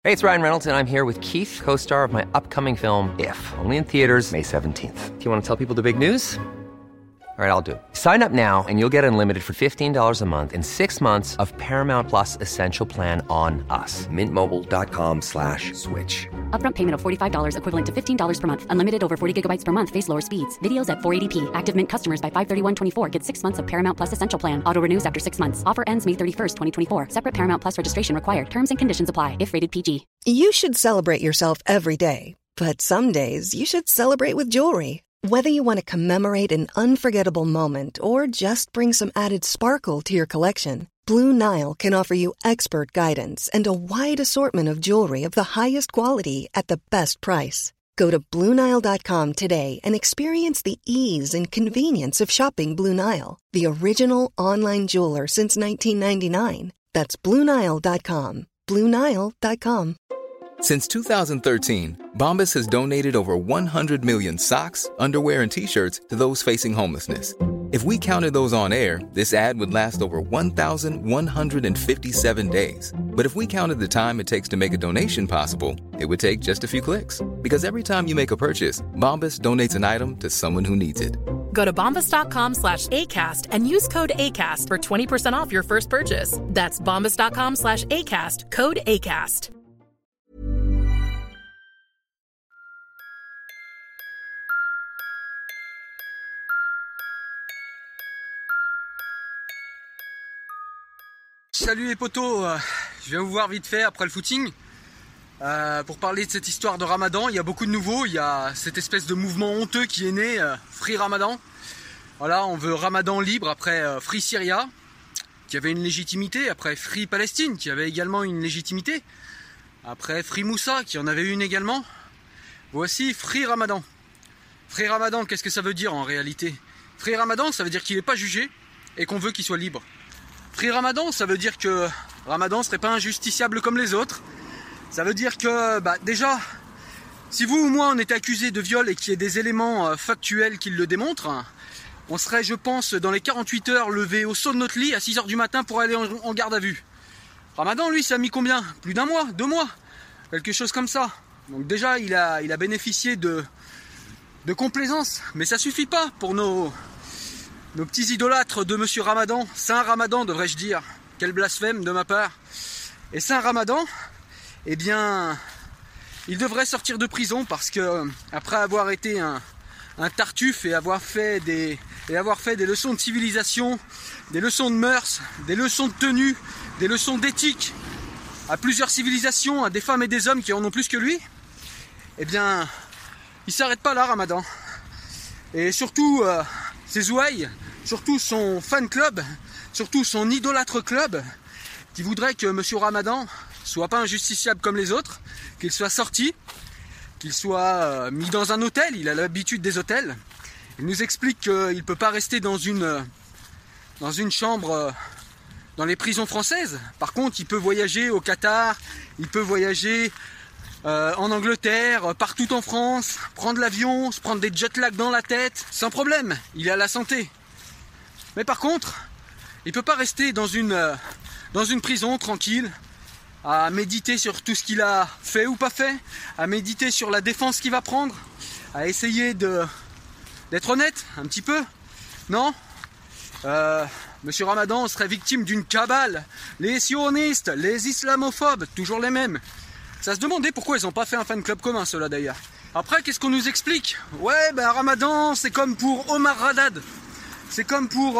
Hey, it's Ryan Reynolds, and I'm here with Keith, co-star of my upcoming film, If, only in theaters May 17th. Do you want to tell people the big news? All right, I'll do it. Sign up now and you'll get unlimited for $15 a month and 6 months of Paramount Plus Essential Plan on us. MintMobile.com/switch. Upfront payment of $45 equivalent to $15 per month. Unlimited over 40 gigabytes per month. Face lower speeds. Videos at 480p. Active Mint customers by 531.24 get 6 months of Paramount Plus Essential Plan. Auto renews after 6 months. Offer ends May 31st, 2024. Separate Paramount Plus registration required. Terms and conditions apply if rated PG. You should celebrate yourself every day. But some days you should celebrate with jewelry. Whether you want to commemorate an unforgettable moment or just bring some added sparkle to your collection, Blue Nile can offer you expert guidance and a wide assortment of jewelry of the highest quality at the best price. Go to BlueNile.com today and experience the ease and convenience of shopping Blue Nile, the original online jeweler since 1999. That's BlueNile.com. BlueNile.com. Since 2013, Bombas has donated over 100 million socks, underwear, and T-shirts to those facing homelessness. If we counted those on air, this ad would last over 1,157 days. But if we counted the time it takes to make a donation possible, it would take just a few clicks. Because every time you make a purchase, Bombas donates an item to someone who needs it. Go to bombas.com/ACAST and use code ACAST for 20% off your first purchase. That's bombas.com/ACAST, code ACAST. Salut les potos, je viens vous voir vite fait après le footing pour parler de cette histoire de Ramadan. Il y a beaucoup de nouveaux, il y a cette espèce de mouvement honteux qui est né, Free Ramadan. Voilà, on veut Ramadan libre après Free Syria, qui avait une légitimité, après Free Palestine, qui avait également une légitimité, après Free Moussa, qui en avait une également. Voici Free Ramadan. Free Ramadan, qu'est-ce que ça veut dire en réalité? Free Ramadan, ça veut dire qu'il n'est pas jugé et qu'on veut qu'il soit libre. Free Ramadan, ça veut dire que Ramadan serait pas injusticiable comme les autres. Ça veut dire que, déjà, si vous ou moi on était accusé de viol et qu'il y ait des éléments factuels qui le démontrent, on serait, je pense, dans les 48 heures levé au saut de notre lit à 6 heures du matin pour aller en garde à vue. Ramadan, lui, ça a mis combien? Plus d'1 mois, 2 mois, quelque chose comme ça. Donc déjà, il a bénéficié de complaisance, mais ça suffit pas pour nos petits idolâtres de Monsieur Ramadan, Saint Ramadan devrais-je dire, quel blasphème de ma part. Et Saint Ramadan, eh bien, il devrait sortir de prison parce que après avoir été un tartuffe et avoir fait des leçons de civilisation, des leçons de mœurs, des leçons de tenue, des leçons d'éthique à plusieurs civilisations, à des femmes et des hommes qui en ont plus que lui, eh bien, il s'arrête pas là, Ramadan. Et surtout, ses ouailles, surtout son fan club, surtout son idolâtre club, qui voudrait que Monsieur Ramadan soit pas injusticiable comme les autres, qu'il soit sorti, qu'il soit mis dans un hôtel, il a l'habitude des hôtels. Il nous explique qu'il ne peut pas rester dans une chambre dans les prisons françaises. Par contre, il peut voyager au Qatar, il peut voyager en Angleterre, partout en France, prendre l'avion, se prendre des jet lag dans la tête, sans problème, il a la santé. Mais par contre, il ne peut pas rester dans une prison tranquille, à méditer sur tout ce qu'il a fait ou pas fait, à méditer sur la défense qu'il va prendre, à essayer d'être honnête un petit peu. Non, Monsieur Ramadan serait victime d'une cabale, les sionistes, les islamophobes, toujours les mêmes. Ça se demandait pourquoi ils n'ont pas fait un fan club commun, ceux-là d'ailleurs. Après, qu'est-ce qu'on nous explique? Ouais, Ramadan, c'est comme pour Omar Haddad. C'est comme pour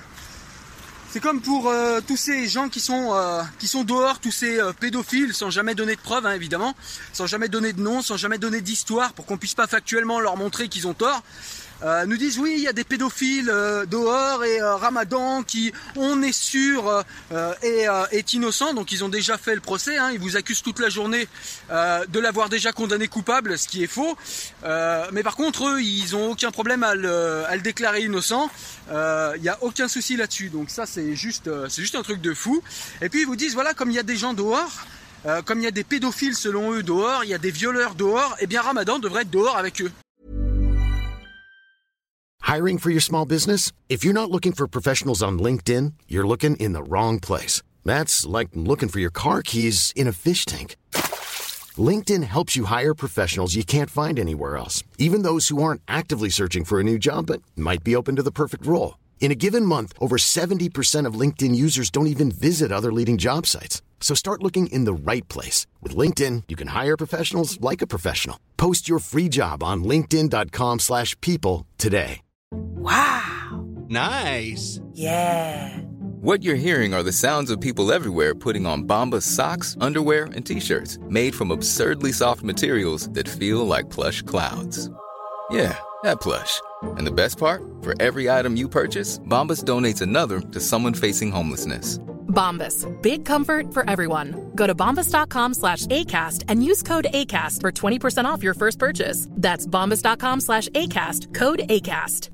tous ces gens qui sont dehors, tous ces pédophiles, sans jamais donner de preuves, hein, évidemment, sans jamais donner de nom, sans jamais donner d'histoire, pour qu'on puisse pas factuellement leur montrer qu'ils ont tort. Nous disent oui, il y a des pédophiles dehors et Ramadan qui, on est sûr, est innocent. Donc ils ont déjà fait le procès, hein, ils vous accusent toute la journée de l'avoir déjà condamné coupable, ce qui est faux. Mais par contre, eux, ils ont aucun problème à le déclarer innocent. Il n'y a aucun souci là-dessus. Donc ça, c'est juste un truc de fou. Et puis ils vous disent voilà, comme il y a des gens dehors, comme il y a des pédophiles selon eux dehors, il y a des violeurs dehors, et bien Ramadan devrait être dehors avec eux. Hiring for your small business? If you're not looking for professionals on LinkedIn, you're looking in the wrong place. That's like looking for your car keys in a fish tank. LinkedIn helps you hire professionals you can't find anywhere else, even those who aren't actively searching for a new job but might be open to the perfect role. In a given month, over 70% of LinkedIn users don't even visit other leading job sites. So start looking in the right place. With LinkedIn, you can hire professionals like a professional. Post your free job on linkedin.com/people today. Wow. Nice. Yeah. What you're hearing are the sounds of people everywhere putting on Bombas socks, underwear, and T-shirts made from absurdly soft materials that feel like plush clouds. Yeah, that plush. And the best part? For every item you purchase, Bombas donates another to someone facing homelessness. Bombas. Big comfort for everyone. Go to bombas.com/ACAST and use code ACAST for 20% off your first purchase. That's bombas.com/ACAST. Code ACAST.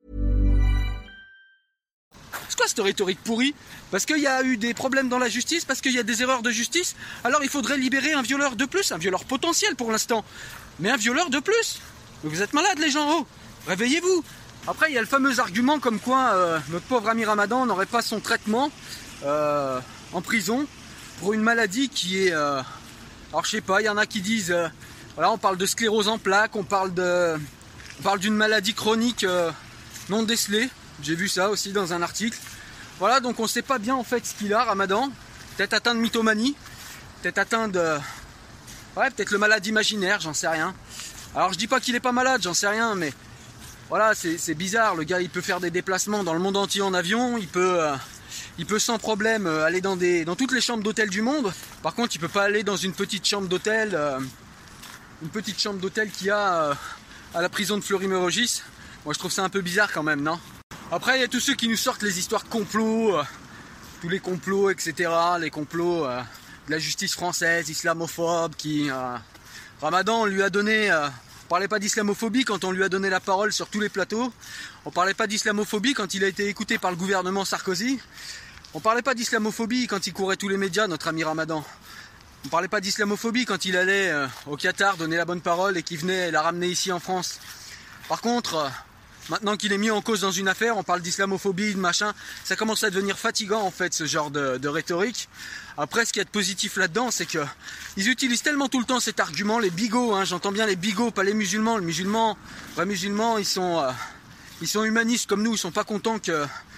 C'est quoi cette rhétorique pourrie? Parce qu'il y a eu des problèmes dans la justice, parce qu'il y a des erreurs de justice, alors il faudrait libérer un violeur de plus, un violeur potentiel pour l'instant, mais un violeur de plus. Vous êtes malades les gens, oh, réveillez-vous. Après il y a le fameux argument comme quoi notre pauvre ami Ramadan n'aurait pas son traitement en prison pour une maladie qui est... alors je sais pas, il y en a qui disent... voilà, on parle de sclérose en plaques, on parle d'une maladie chronique non décelée. J'ai vu ça aussi dans un article. Voilà, donc on sait pas bien en fait ce qu'il a, Ramadan. Peut-être atteint de mythomanie, peut-être atteint de... ouais, peut-être le malade imaginaire, j'en sais rien. Alors je dis pas qu'il est pas malade, j'en sais rien, mais... voilà, c'est bizarre, le gars il peut faire des déplacements dans le monde entier en avion, il peut sans problème aller dans toutes les chambres d'hôtel du monde. Par contre il peut pas aller dans une petite chambre d'hôtel qu'il y a à la prison de Fleury-Mérogis. Moi je trouve ça un peu bizarre quand même, non? Après il y a tous ceux qui nous sortent les histoires de complots, tous les complots, etc. Les complots de la justice française, islamophobe, qui... Ramadan on lui a donné... on parlait pas d'islamophobie quand on lui a donné la parole sur tous les plateaux. On parlait pas d'islamophobie quand il a été écouté par le gouvernement Sarkozy. On parlait pas d'islamophobie quand il courait tous les médias, notre ami Ramadan. On parlait pas d'islamophobie quand il allait au Qatar donner la bonne parole et qu'il venait la ramener ici en France. Par contre, maintenant qu'il est mis en cause dans une affaire, on parle d'islamophobie, de machin. Ça commence à devenir fatigant en fait, ce genre de rhétorique. Après, ce qu'il y a de positif là-dedans, c'est que ils utilisent tellement tout le temps cet argument, les bigots, hein, j'entends bien les bigots, pas les musulmans. Les vrais musulmans, ils sont humanistes comme nous, ils sont pas contents qu'il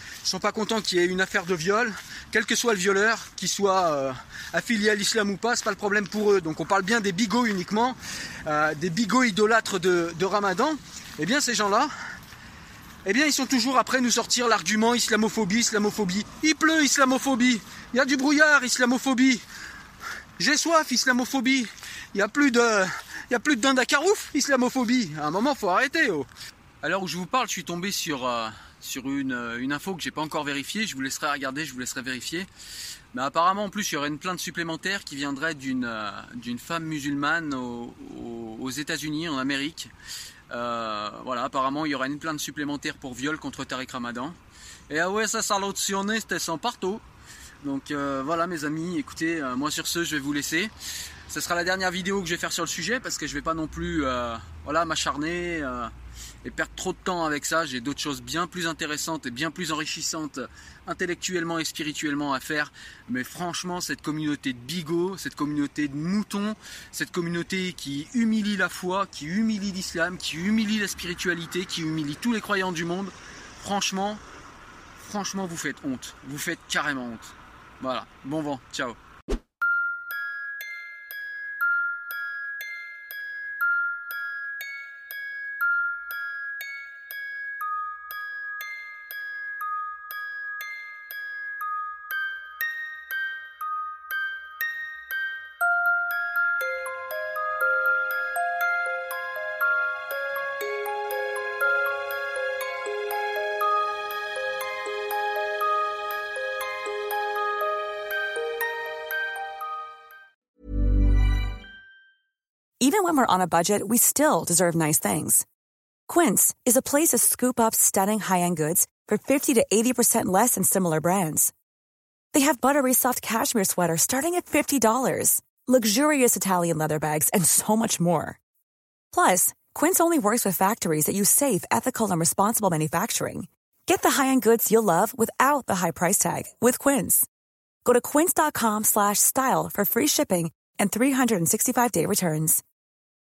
y ait une affaire de viol, quel que soit le violeur, qu'il soit affilié à l'islam ou pas, c'est pas le problème pour eux. Donc on parle bien des bigots uniquement, des bigots idolâtres de Ramadan. Eh bien ces gens-là, eh bien ils sont toujours après nous sortir l'argument islamophobie. Il pleut, islamophobie. Il y a du brouillard, islamophobie. J'ai soif, islamophobie. Il y a plus de dinde à carouf, islamophobie. À un moment, faut arrêter. Oh. À l'heure où je vous parle, je suis tombé sur une info que j'ai pas encore vérifiée. Je vous laisserai regarder, je vous laisserai vérifier. Mais apparemment, en plus, il y aurait une plainte supplémentaire qui viendrait d'une femme musulmane aux États-Unis, en Amérique. Voilà, apparemment, il y aura une plainte supplémentaire pour viol contre Tariq Ramadan. Et ah ouais, ça salutionnait, c'était sans partout. Donc voilà mes amis, écoutez, moi sur ce je vais vous laisser. Ce sera la dernière vidéo que je vais faire sur le sujet parce que je vais pas non plus m'acharner et perdre trop de temps avec ça. J'ai d'autres choses bien plus intéressantes et bien plus enrichissantes intellectuellement et spirituellement à faire. Mais franchement, cette communauté de bigots, cette communauté de moutons, cette communauté qui humilie la foi, qui humilie l'islam, qui humilie la spiritualité, qui humilie tous les croyants du monde, franchement vous faites honte. Vous faites carrément honte. Voilà, bon vent, ciao. Even when we're on a budget, we still deserve nice things. Quince is a place to scoop up stunning high-end goods for 50 to 80% less than similar brands. They have buttery soft cashmere sweaters starting at $50, luxurious Italian leather bags, and so much more. Plus, Quince only works with factories that use safe, ethical, and responsible manufacturing. Get the high-end goods you'll love without the high price tag with Quince. Go to quince.com/style for free shipping and 365-day returns.